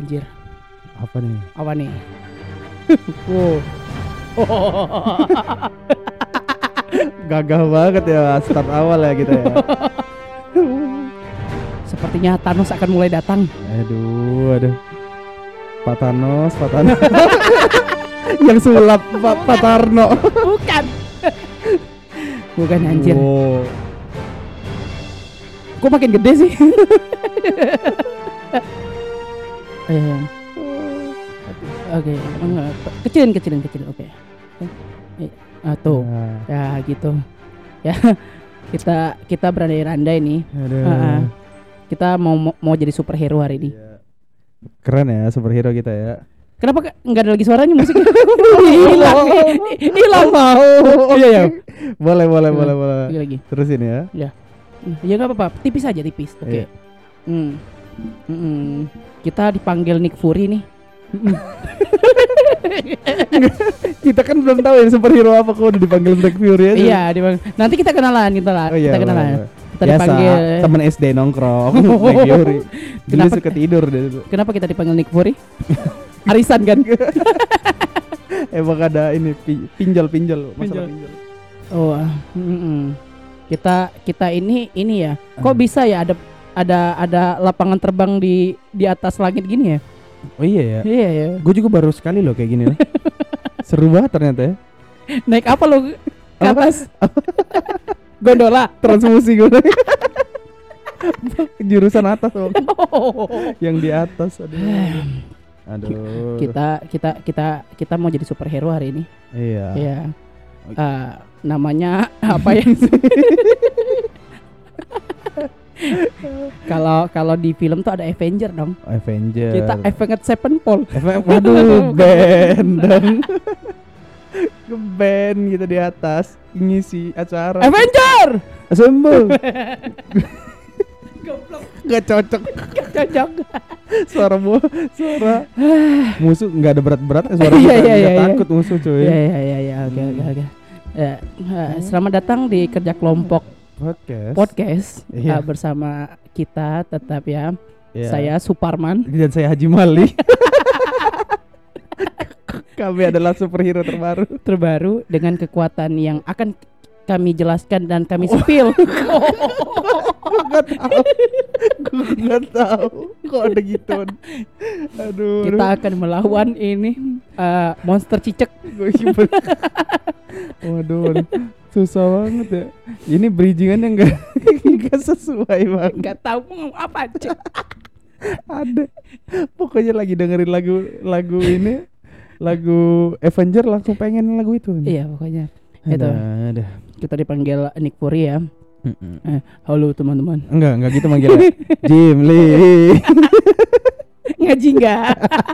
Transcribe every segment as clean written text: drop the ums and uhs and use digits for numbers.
anjir. Apa nih? Apa nih? Wow. Gagah banget ya start awal ya kita ya. Sepertinya Thanos akan mulai datang. Aduh. Pak Thanos. Yang sulap Pak Tarno. Bukan anjir. Wow. Kok makin gede sih? Oke, enggak. Kecilin. Oke. Tuh. Nah, Ya gitu. Ya. Kita berandai-andai nih. aduh. Kita mau jadi superhero hari ini. Keren ya superhero kita ya. Kenapa nggak ada lagi suaranya musiknya? Hilang. Mau. Iya ya. Boleh. Lagi. Terusin ya. Ya nggak apa-apa. Tipis aja tipis. Oke. Iya. Kita dipanggil Nick Fury nih. Kita kan belum tahu ya superhero apa kok udah dipanggil Black Fury aja. Iya, nanti kita kenalan. Oh, iya, Kita kenalan. boleh. Kita Biasa, dipanggil temen SD nongkrong Black Fury. Dulu Kenapa- suka tidur deh. Kenapa kita dipanggil Nick Fury? Arisan kan? Emang ada ini pinjol masalah Pinjol. pinjol. Oh, kita ini ya. Kok bisa ya ada lapangan terbang di atas langit gini ya? Oh iya ya. Iya ya. Gue juga baru sekali loh kayak gini loh. Seru banget ternyata ya. Naik apa lo ke atas? Gondola. Transmusi gue. Jurusan atas loh. Yang di atas aduh. Kita mau jadi superhero hari ini. Iya. Iya. Namanya apa ya? Kalau di film tuh ada Avenger dong. Avenger. Kita Avenged Sevenfold. Waduh, band dong. Ngeband gitu di atas ngisi acara. Avenger. Assemble. Goblok. Gak cocok. Cocok. Suara musuh nggak ada berat-berat. Suara Iya, kita iya, nggak iya. takut musuh cuy. Iya. Oke. Ya, selamat datang di kerja kelompok podcast Iya. bersama kita tetap ya. Iya. Saya Suparman. Dan saya Haji Mali. Kami adalah superhero terbaru dengan kekuatan yang akan kami jelaskan dan kami spill. Gak tahu kok ada gituan. Aduh. Kita akan melawan ini monster cicak. Waduh, susah banget ya. Ini bridgingannya nggak sesuai banget. Gak tahu mau ngomong apa aja. Ada. Pokoknya lagi dengerin lagu ini, lagu Avenger langsung pengen lagu itu. Iya pokoknya. Itu. Ada. Kita dipanggil Nick Fury ya. Halo teman-teman. Enggak gitu manggilnya. Jim Lee. Ngaji enggak?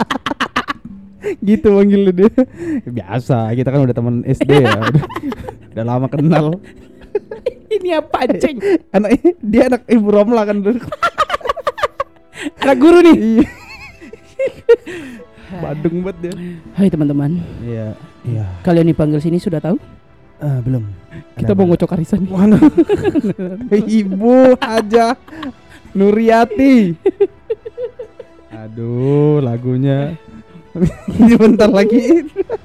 Gitu manggil dia. Biasa, kita kan udah teman SD ya. Udah lama kenal. Ini apa ceng? Dia anak Ibu Romla kan dulu. Anak guru nih. Iya. Badung banget dia. Hai teman-teman. Iya. Kalian dipanggil sini sudah tahu? Belum. Kita mau ngocok arisan nih. Mana? Ibu aja Nuriati. Aduh, lagunya. Ini bentar lagi.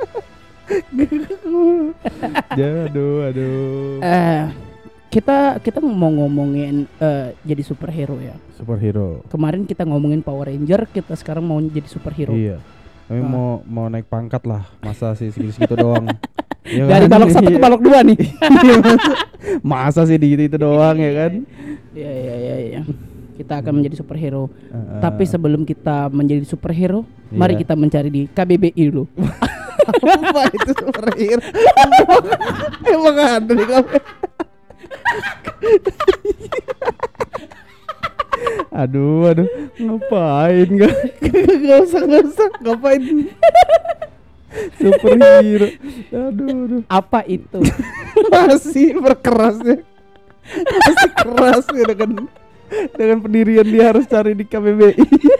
Aduh. Kita mau ngomongin jadi superhero ya. Superhero. Kemarin kita ngomongin Power Ranger, kita sekarang mau jadi superhero. Iya. Kami mau naik pangkat lah. Masa sih segitu doang. Ya Dari kan? balok 1 ke balok 2 nih. Masa sih di itu doang ya kan? Iya. Kita akan menjadi superhero. Tapi sebelum kita menjadi superhero, Iya. mari kita mencari di KBBI dulu. Apa itu superhero? Emang ada di kamu? Aduh, ngapain Gak usah, ngapain? Superhero. Aduh. Apa itu? Masih berkerasnya. Masih keras ya dengan pendirian dia harus cari di KBBI.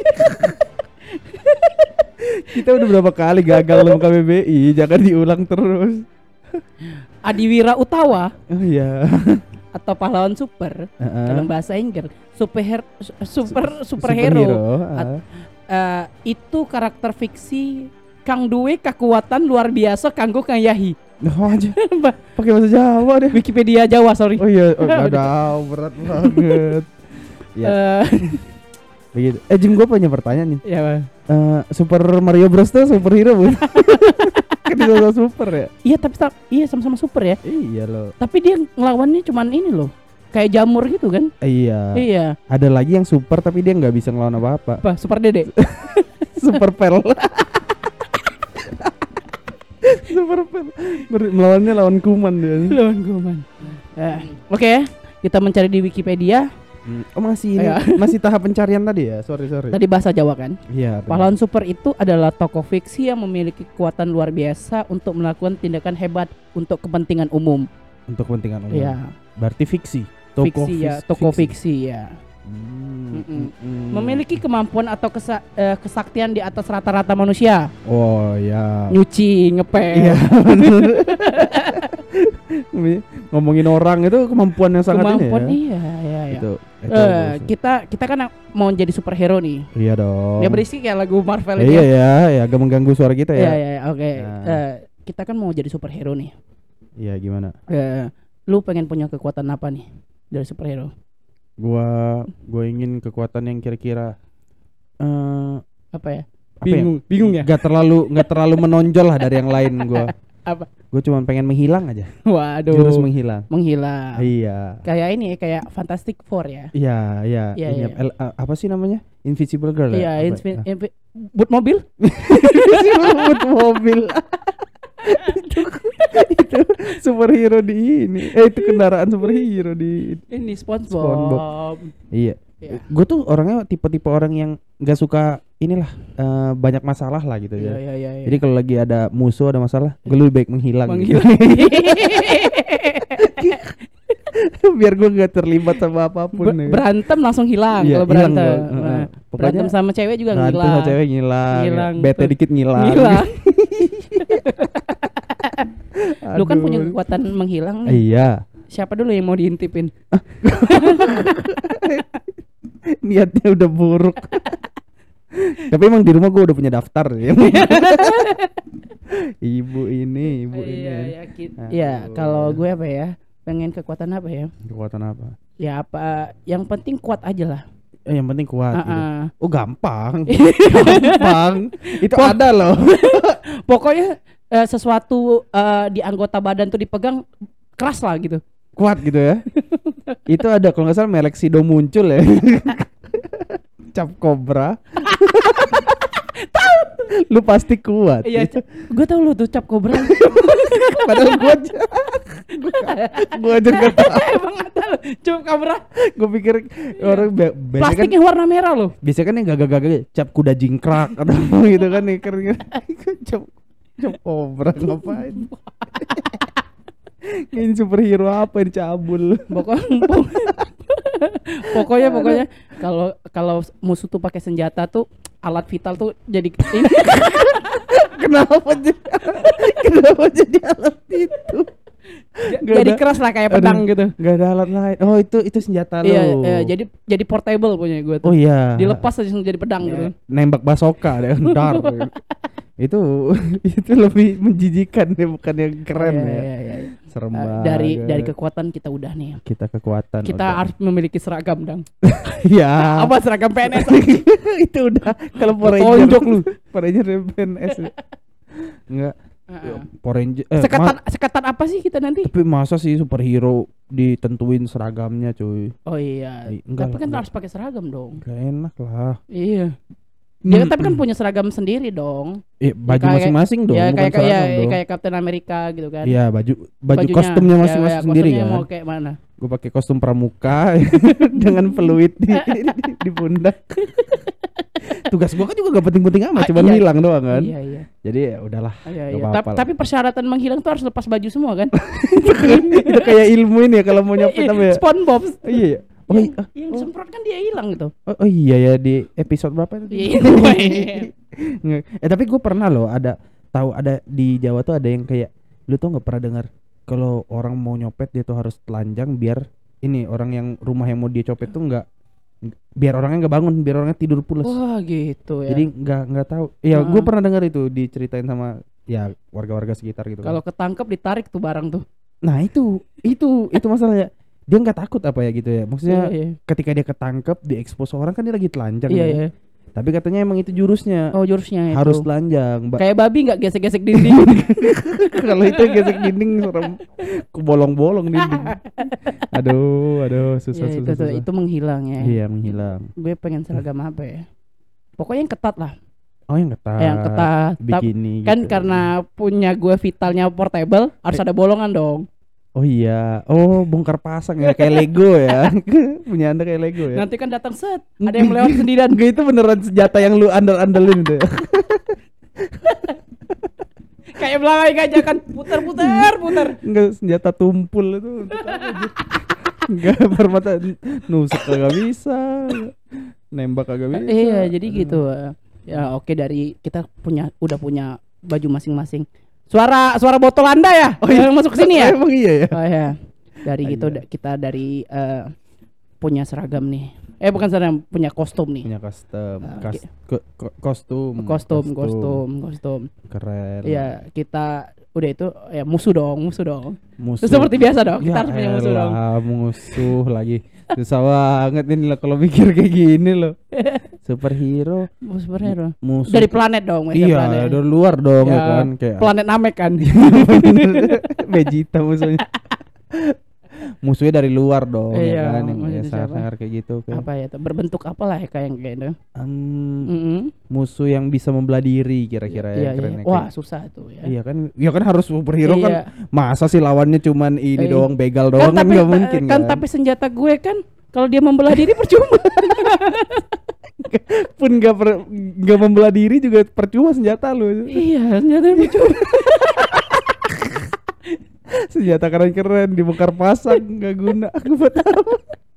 Kita udah berapa kali gagal dalam KBBI, jangan diulang terus. Adiwira Utawa Oh iya. atau pahlawan super dalam bahasa Inggris superhero itu karakter fiksi kang duwe kekuatan luar biasa kanggo Kang Yahi. Oh aja. Pakai bahasa Jawa deh. Wikipedia Jawa, sorry. Oh iya, ada berat banget. Ya. Begitu. Jim, gue punya pertanyaan nih. Iya, Bang. Super Mario Bros tuh superhero bukan? Kan dia super ya? Iya, tapi sama-sama super ya. Iya loh. Tapi dia ngelawannya cuman ini loh. Kayak jamur gitu kan? Iya. Iya. Ada lagi yang super tapi dia nggak bisa ngelawan apa-apa. Apa? Super Dede. Super Pel. Super Pel. Melawannya lawan kuman dia. Lawan kuman. Oke ya. Kita mencari di Wikipedia. Oh masih ini, masih tahap pencarian tadi ya? Sorry. Tadi bahasa Jawa kan? Iya. Pahlawan super itu adalah tokoh fiksi yang memiliki kekuatan luar biasa untuk melakukan tindakan hebat untuk kepentingan umum. Untuk kepentingan umum. Iya. Berarti fiksi. Tokoh fiksi ya. Memiliki kemampuan atau kesaktian di atas rata-rata manusia. Oh ya. Nyuci, ngepel. Iya. Ngomongin orang itu kemampuan yang sangat kemampuan ini ya. Iya. Itu Kita kan mau jadi superhero nih. Iya dong. Ya berisik ya lagu Marvel ini. Iya ya, agak mengganggu suara kita ya. Iya, oke. Kita kan mau jadi superhero nih. Iya, gimana? Lu pengen punya kekuatan apa nih dari superhero? Gua ingin kekuatan yang kira-kira apa ya? Bingung ya? Gak terlalu menonjol lah dari yang lain gua. Apa? Gue cuma pengen menghilang aja. Waduh. Jurus menghilang. Iya. Kayak ini ya, kayak Fantastic Four ya. Iya. Iya. Apa sih namanya? Invisible Girl. Iya, boot mobil. Boot mobil. itu superhero di ini. Itu kendaraan superhero di ini SpongeBob. Iya. Gue tuh orangnya tipe-tipe orang yang nggak suka inilah banyak masalah lah gitu ya. Iya. Jadi kalau lagi ada musuh ada masalah, gue lebih baik menghilang. Gitu. Biar gue nggak terlibat sama apapun. Berantem langsung hilang kalau berantem. Berantem sama cewek juga ngilang. Berantem sama cewek ngilang. Bete dikit ngilang. Lu kan punya kekuatan menghilang nih. Iya. Siapa dulu yang mau diintipin? Niatnya udah buruk. Tapi emang di rumah gue udah punya daftar ya. Ibu ini. Iya, kalau gue apa ya? Pengen kekuatan apa ya? Kekuatan apa? Ya apa? Yang penting kuat aja lah. Yang penting kuat. Gitu. Oh gampang. Gampang. Itu ada loh. Pokoknya sesuatu di anggota badan tuh dipegang keras lah gitu. Kuat gitu ya. Itu ada kalau nggak salah Melexido muncul ya. Cap kobra. Tahu. Lu pasti kuat. Iya, gue tahu lu tuh cap kobra. Padahal gue aja nggak tahu. Emang nggak tahu cap kobra. Gue pikir orang plastiknya kan, warna merah loh. Biasanya kan yang gagak-gagak cap kuda jingkrak atau gitu kan nih keren. Cap kobra ngapain? Ini superhero apa yang cabul? Pokoknya kalau musuh tuh pakai senjata tuh alat vital tuh jadi Kenapa jadi alat itu? Jadi keras lah kayak pedang gitu. Gak ada alat lain. Oh itu senjata lo. Iya, jadi portable punya gue tuh. Oh iya. Dilepas aja jadi pedang gitu. Nembak basoka deh, dar. itu lebih menjijikan deh, bukan yang keren ya. Serem banget. Dari kekuatan kita udah nih. Kita harus memiliki seragam dong. Iya. Apa seragam PNS? Itu udah kalau Power Ranger lu. Power Ranger PNS. Enggak. Power Ranger. Sekatan apa sih kita nanti? Tapi masa sih superhero ditentuin seragamnya cuy? Oh iya. Tapi kan harus pakai seragam dong. Gak enak lah. Iya. Dia tapi kan punya seragam sendiri dong. Baju masing-masing dong. Ya kayak Captain America gitu kan. Iya, baju kostumnya masing-masing sendiri kan. Mau kayak mana? Gue pakai kostum pramuka dengan peluit di pundak. Tugas gue kan juga gak penting-penting amat, cuma hilang doang kan. Iya. Jadi ya udahlah. Tapi persyaratan menghilang tuh harus lepas baju semua kan. Itu kayak ilmu ini ya kalau mau nyopet apa ya? SpongeBob. Iya. Yang semprot kan dia hilang gitu. Oh iya ya, di episode berapa itu? Tapi gue pernah loh ada di Jawa tuh ada yang kayak, lu tuh nggak pernah dengar kalau orang mau nyopet dia tuh harus telanjang biar ini orang yang rumah yang mau dia copet tuh nggak biar orangnya nggak bangun, biar orangnya tidur pules. Wah gitu ya. Jadi nggak tahu. Ya gue Heeh. pernah dengar itu diceritain sama ya warga-warga sekitar gitu. Kalau Kan. ketangkep ditarik tuh barang tuh. Nah itu masalahnya. Dia nggak takut apa ya gitu ya. Maksudnya Iya, iya. ketika dia ketangkep, diekspos orang kan dia lagi telanjang. Iya, ya. iya. Tapi katanya emang itu jurusnya. Oh jurusnya Harus itu. telanjang. Kayak babi nggak gesek-gesek dinding. Kalau itu gesek dinding serem. Kebolong-bolong dinding. Aduh, susah Ya, susah. itu menghilang ya. Iya menghilang. Gue pengen seragam apa ya? Pokoknya yang ketat lah. Oh yang ketat. Yang ketat. Bikini Kan gitu. karena punya gue vitalnya portable, harus ada bolongan dong. Oh iya. Oh bongkar pasang ya kayak Lego ya. Punya Anda kayak Lego ya. Nanti kan datang set, ada yang melewati sendirian. Enggak itu beneran senjata yang lu andal-andalin itu. Ya? Kayak belakang aja kan, putar. Enggak senjata tumpul itu untuk apa aja. Enggak permata nusuk kagak bisa. Nembak kagak bisa. Iya, jadi gitu. Ya oke, dari kita udah punya baju masing-masing. Suara botol Anda ya? Oh iya. Yang masuk ke sini ya? Emang iya ya. Oh ya. Dari gitu Iya. kita dari punya seragam nih. Bukan seragam, punya kostum nih. Punya custom. Oke. Kostum. Kostum. Keren. Iya, kita udah itu ya musuh dong. Musuh. Seperti biasa dong, kita Ya harus punya musuh dong. elah, musuh lagi. Susah banget ini loh kalau mikir kayak gini loh. Superhero, Superhero. musuh. Dari planet dong, mereka Iya, planet. dari luar dong ya, Ya, kan kayak Planet Namek kan. Vegeta musuhnya. Musuhnya dari luar dong Iya, ya kan yang musuhnya ya, siapa? sangar kayak gitu kan. Apa ya tuh? Berbentuk apalah ya kayak gitu. Em, musuh yang bisa membelah diri kira-kira Iya, ya keren iya. ya, Wah, kayak- susah tuh ya. Iya kan, ya kan harus superhero Iya. kan. Masa sih lawannya cuman ini Iya. doang, begal doang kan tapi nggak mungkin kan. kan. Tapi senjata gue kan kalau dia membelah diri percuma. Pun nggak membelah diri juga percuma senjata lu. Iya, senjata percuma. Senjata keren-keren dibongkar pasang nggak guna. Aku buat apa?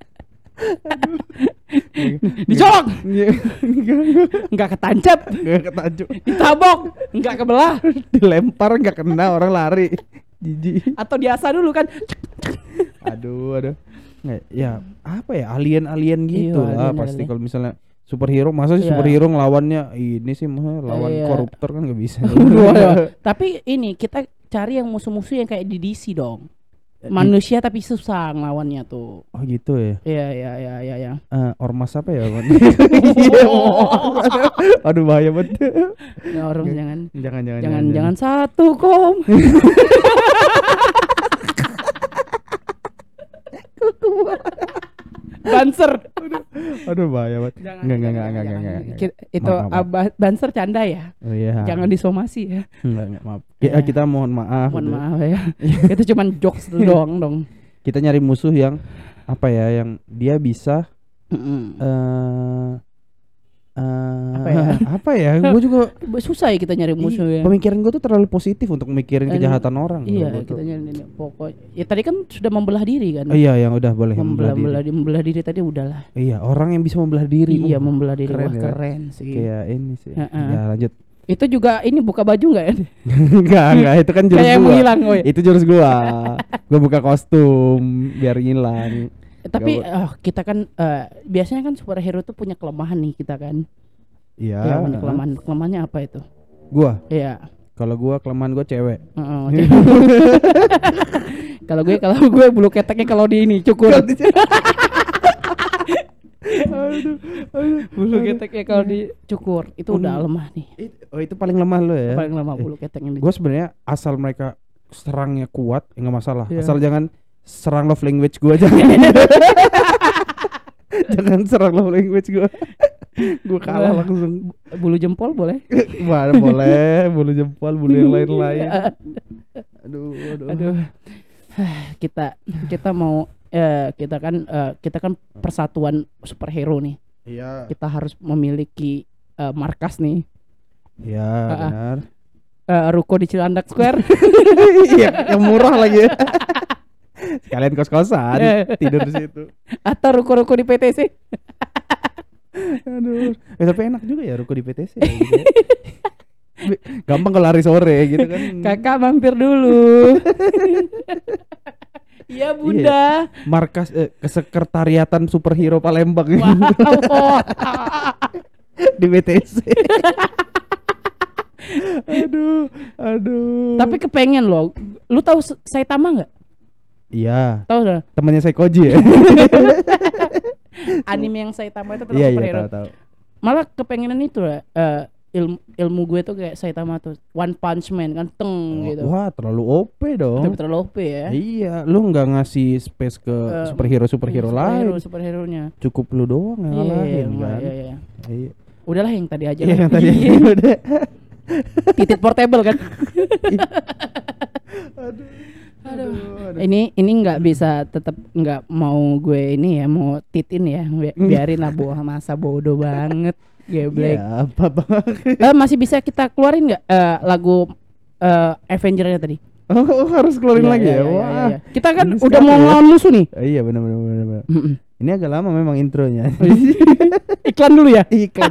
Dicolok, Iya. nggak ketancap, Nggak ketajuk. ditabok, nggak kebelah, Dilempar nggak kena, orang lari. Jijik. atau diasah dulu kan. Aduh. Nggak, ya apa ya, alien gitu Iya, lah alien, pasti alien. kalau misalnya superhero. Masa sih Iya. superhero ngelawannya ini sih, masa lawan Iya. koruptor kan nggak bisa. Tapi ini kita cari yang musuh-musuh yang kayak di DC dong. Manusia tapi susah ngelawannya tuh. Oh gitu ya. Iya. Ormas apa ya? Iya. Aduh bahaya banget. Ya, orang jangan Jangan. satu kom. Banser. Aduh bahaya banget. Jangan. Enggak. Itu Maaf. Banser canda ya. Oh iya. Jangan disomasi ya. Enggak, maaf. Iya. Kita mohon maaf. Mohon gitu. maaf ya. Itu cuman jokes doang dong. Kita nyari musuh yang apa ya, yang dia bisa apa ya? Gue juga Susah ya kita nyari musuh ya. pemikiran gue tuh terlalu positif untuk mikirin kejahatan orang. Iya, Gua tuh. kita nyari pokok. Ya tadi kan sudah membelah diri kan. Iya, yang udah boleh membelah diri. Membelah diri tadi udahlah. Iya, orang yang bisa membelah diri. Iya, membelah diri. keren Wah, ya. keren sih. Kayak ini sih. Heeh. Ya lanjut. Itu juga ini buka baju enggak ya? Enggak, itu kan jurus Kayak yang gua. menghilang, woy. Itu jurus gua. Gua buka kostum biar hilang. Tapi Gak kita kan biasanya kan superhero tuh punya kelemahan nih kita kan. Iya. Iya, punya kelemahan. Kelemahannya apa itu? Gua, Iya. kalau gua kelemahan gua cewek. Heeh, oke. Kalau gue bulu keteknya kalau di ini cukur. Bulu keteknya kalau dicukur itu udah lemah nih. Oh, itu paling lemah lo ya. Paling lemah bulu keteknya. Gue sebenarnya asal mereka serangnya kuat, nggak masalah. Iya. Asal jangan serang love language gue aja. Jangan serang love language gue. Gue kalah Wah. langsung. Bulu jempol boleh? Wah, boleh, bulu jempol, bulu yang lain-lain. Aduh. Kita mau kita kan persatuan superhero nih. Iya. Kita harus memiliki markas nih. Iya, benar. Ruko di Cilandak Square. Iya, yang murah lagi ya. Sekalian kos-kosan, tidur di situ. Atau ruko-ruko di PTC. Aduh. Tapi enak juga ya ruko di PTC ya, gitu ya. Gampang kalau hari sore gitu kan. Kakak mampir dulu. Iya bunda. Markas kesekretariatan superhero Palembang Wow. di BTS. Aduh. Tapi kepengen loh. Lu tahu Saitama nggak? Iya, Tahu dah. temannya Seikoji ya. Anime yang Saitama itu tentang Iya, superhero. tahu. Malah kepengenan itu lah. Ilmu gue tuh kayak Saitama tuh One Punch Man kan gitu. Wah, terlalu OP dong. Terlalu OP ya. Iya, lu nggak ngasih space ke superhero lain. Superhero-nya. Cukup lu doang yang ngalahin kan. Iya. Iya. Udahlah yang tadi aja. Iya, lah. yang tadi aja udah. Titit portable kan. Aduh. Ini nggak bisa tetap nggak mau gue ini ya mau titin ya biarin lah masa bodoh banget geblek. Ya, apa bang? Masih bisa kita keluarin nggak lagu Avenger-nya tadi? Oh, harus keluarin lagi ya. Wah. Iya. Kita kan Ini udah sekali mau ya. ngelawan musuh nih. Iya benar. Ini agak lama memang intronya. Iklan dulu ya. Iklan.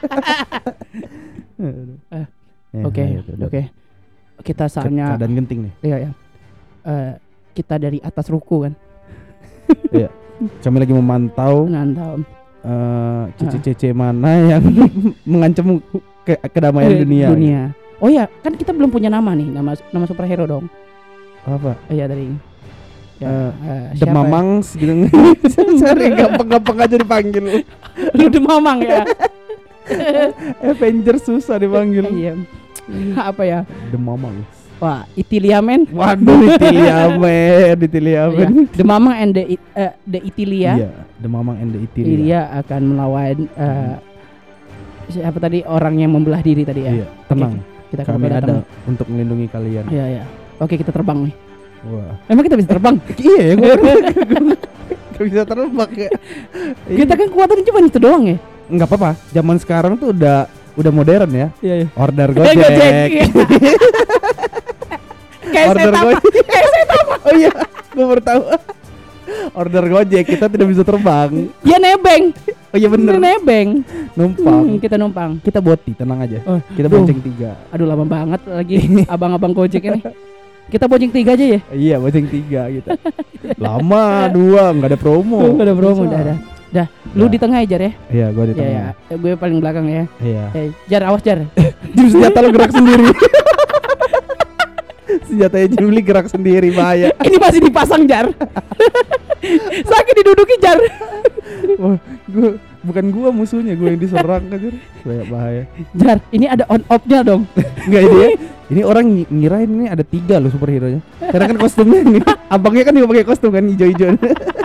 Oke. Kita saatnya keadaan genting nih. Iya. Kita dari atas ruku kan. Iya. Kami lagi memantau Nantau. cici-cici mana yang mengancam kedamaian dunia. Oh ya, kan kita belum punya nama nih, nama superhero dong. Apa? Iya dari The Mamangs gitu. Sorry, gampang-gampang aja dipanggil. Lu The Mamang ya. Avengers susah dipanggil. Iya. Apa ya? The Mamangs. Wah, Itilia men. Waduh, Itilia. Iya. The Mamang and the Itilia. Iya, The Mamang and the Itilia. Itilia akan melawan siapa tadi orang yang membelah diri tadi ya. Iya, tenang. Kita Kami ada untuk melindungi kalian. Iya. Oke, kita terbang nih. Wah. Emang kita bisa terbang? Iya ya, gue gak bisa terbang ya. Kita kan kuatannya cuma itu doang ya. Enggak apa-apa. Zaman sekarang tuh udah modern ya. Iya. Order Gojek. Iya. Kayak Order Saitama. Gojek. Oh iya, gue baru tahu. Order Gojek kita tidak bisa terbang. Dia nebeng. Oh iya bener. Dia nebeng. Numpang. Kita numpang. Kita boti, tenang aja. Oh, Kita duh. bonceng 3. Aduh lama banget lagi abang-abang Gojek ini. Kita bonceng 3 aja ya. Iya, bonceng 3 gitu. Lama 2, enggak ada promo. Gak ada promo, Susah. Dah. Lu di tengah ya Jar ya. Iya, gue di Iya tengah. ya. Gue paling belakang ya. Iya. Jar awas Jar. Jurus senjata lo gerak sendiri. Senjatanya Juli gerak sendiri, bahaya. Ini masih dipasang Jar. Sakit diduduki Jar. Wah, bukan gua musuhnya, gua yang diserang aja. Bahaya. Jar, ini ada on off-nya dong. Enggak ini ya. Ini orang ngirain ini ada 3 loh superhero-nya. Karena kan kostumnya ini. Abangnya kan juga pakai kostum kan hijau-hijau.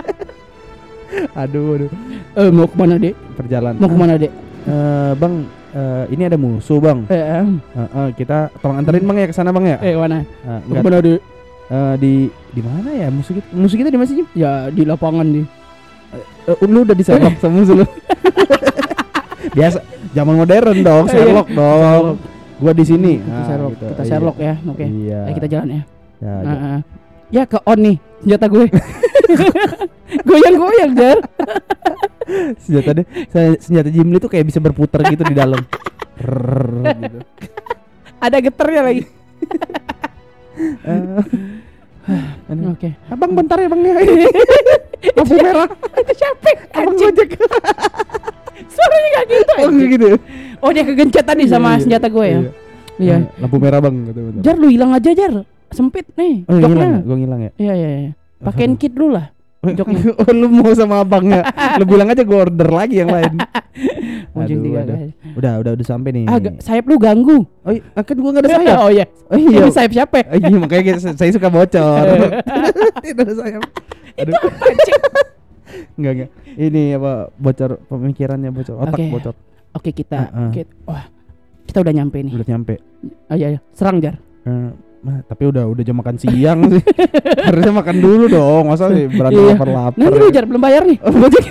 Aduh. Mau kemana Dek? Perjalanan. Mau kemana Dek? Bang, ini ada musuh, Bang. Kita tolong anterin Bang ya ke sana, Bang ya. Mana? Enggak. Kemana Dek? Di mana ya musuh kita di mana sih? Ya di lapangan nih. Lu udah diserok sama musuh lu. Biasa, zaman modern dong, Sherlock dong. Gua di sini. Kita Sherlock ya. Oke. Iya. Kita jalan ya. Ya, Ya ke on nih senjata gue. Goyang-goyang Jar. senjata Jimli tuh kayak bisa berputar gitu di dalam. Gitu. Ada geternya lagi. Oke. Abang bentar ya Bang ya. Lampu merah. Itu siapa? Abang Gojek. Suaranya gak gitu. Oh gitu. Oh dia kegencet tadi sama senjata gue ya. Iya. Lampu merah Bang gitu. Jar lu hilang aja Jar. Sempit nih. Oh joknya. hilang, gua ngilang ya. Iya. Pakein kit dulu lah. Joknya. Oh lu mau sama abangnya. Lu bilang aja gua order lagi yang lain. Bonceng 3 aduh. guys. Udah sampai nih. Sayap lu ganggu. Oh kan gua enggak ada sayap. Oh iya. Iya. Ini sayap siapa? Iya makanya saya suka bocor. Tidak ada sayap. Aduh. Enggak. Ini apa bocor pemikirannya bocor, otak bocor. Oke kita. Wah. Kita udah nyampe nih. Udah nyampe. Oh iya. Serang Jar. Tapi udah jam makan siang sih. Harusnya makan dulu dong. Masa sih berantem lapar-lapar. Nanti lu Jar belum bayar nih. Gojek.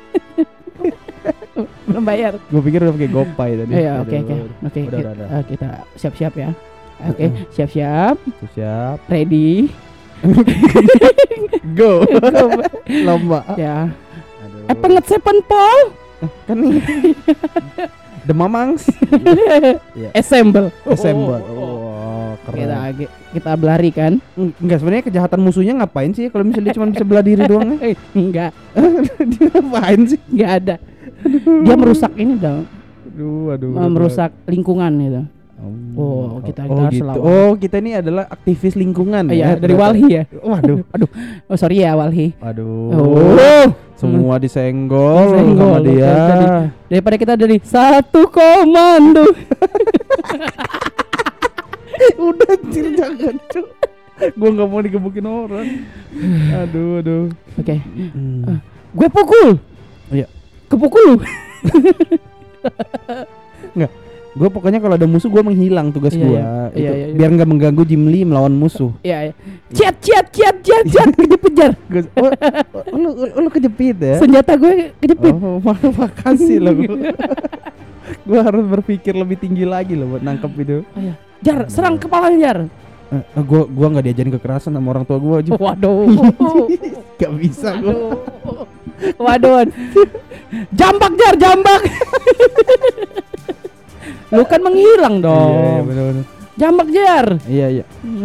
Belum bayar. Gue pikir udah pakai GoPay tadi. Iya, oke. Kita siap-siap ya. Oke, siap-siap. Siap. Ready. Go. Lomba. Ya. Aduh. Pengetsepan Paul. Kan nih. The Mamangs. Assemble. Assemble. Oh, keren. kita berlari kan? Enggak, sebenarnya kejahatan musuhnya ngapain sih kalau misalnya dia cuma bisa belah diri doang? Enggak, Dia ngapain sih? enggak ada. Dia merusak ini dong, Aduh. merusak lingkungan gitu. Oh, kita harus gitu. lawan. Oh, kita ini adalah aktivis lingkungan Iya, ya. dari ternyata. Walhi ya. Waduh. Oh sorry ya Walhi. Waduh. Oh. Semua disenggol Disenggol, sama dia. Daripada kita dari satu komando. Udah anjir, jangan cu. Gua nggak mau digebukin orang. Aduh. Oke. Gue pukul. Iya. Kepukul lu. Enggak. Gue pokoknya kalau ada musuh gue menghilang tugas Iya, gue. iya. Iya. Biar nggak mengganggu Jim Lee melawan musuh. Iya. Ciat kejepit. Lu kejepit ya? Senjata gue kejepit. Oh, makasih loh. Gue harus berpikir lebih tinggi lagi loh buat nangkep itu. Oh, iya. Jar, serang kepalanya Jar. Gue nggak diajarin kekerasan sama orang tua gue. Waduh. Gak bisa gue. Waduh. Jambak Jar, jambak. Lu kan menghilang dong. Iya benar. Jambak Jar. Iya.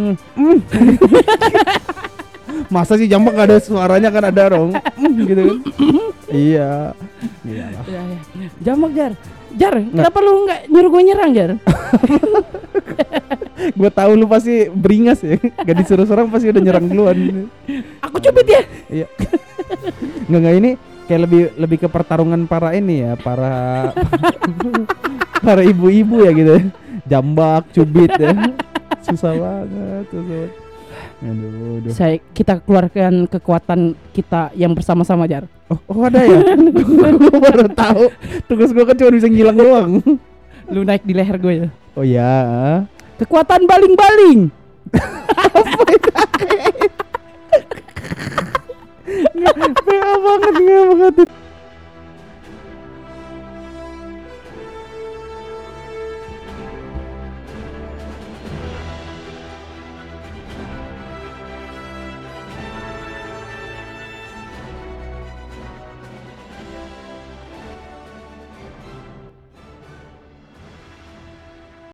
Masa sih jambak gak ada suaranya kan ada dong. Gitu kan. Iya. Iyalah. Iya. Jambak Jar. Jar, kenapa lu nggak nyuruh gue nyerang Jar? Gue tahu lu pasti beringas ya. Gak disuruh serang pasti udah nyerang duluan. Aku cubit ya. Iya. Enggak ini kayak lebih ke pertarungan para ini ya, para ibu-ibu ya gitu. Jambak, cubit ya. Susah banget. Aduh. Kita keluarkan kekuatan kita yang bersama-sama Jar. Oh ada ya? Gue baru tahu. Tugas gue kan cuma bisa ngilang doang. Lu naik di leher gue ya. Oh ya. Kekuatan baling-baling. Nggak banget.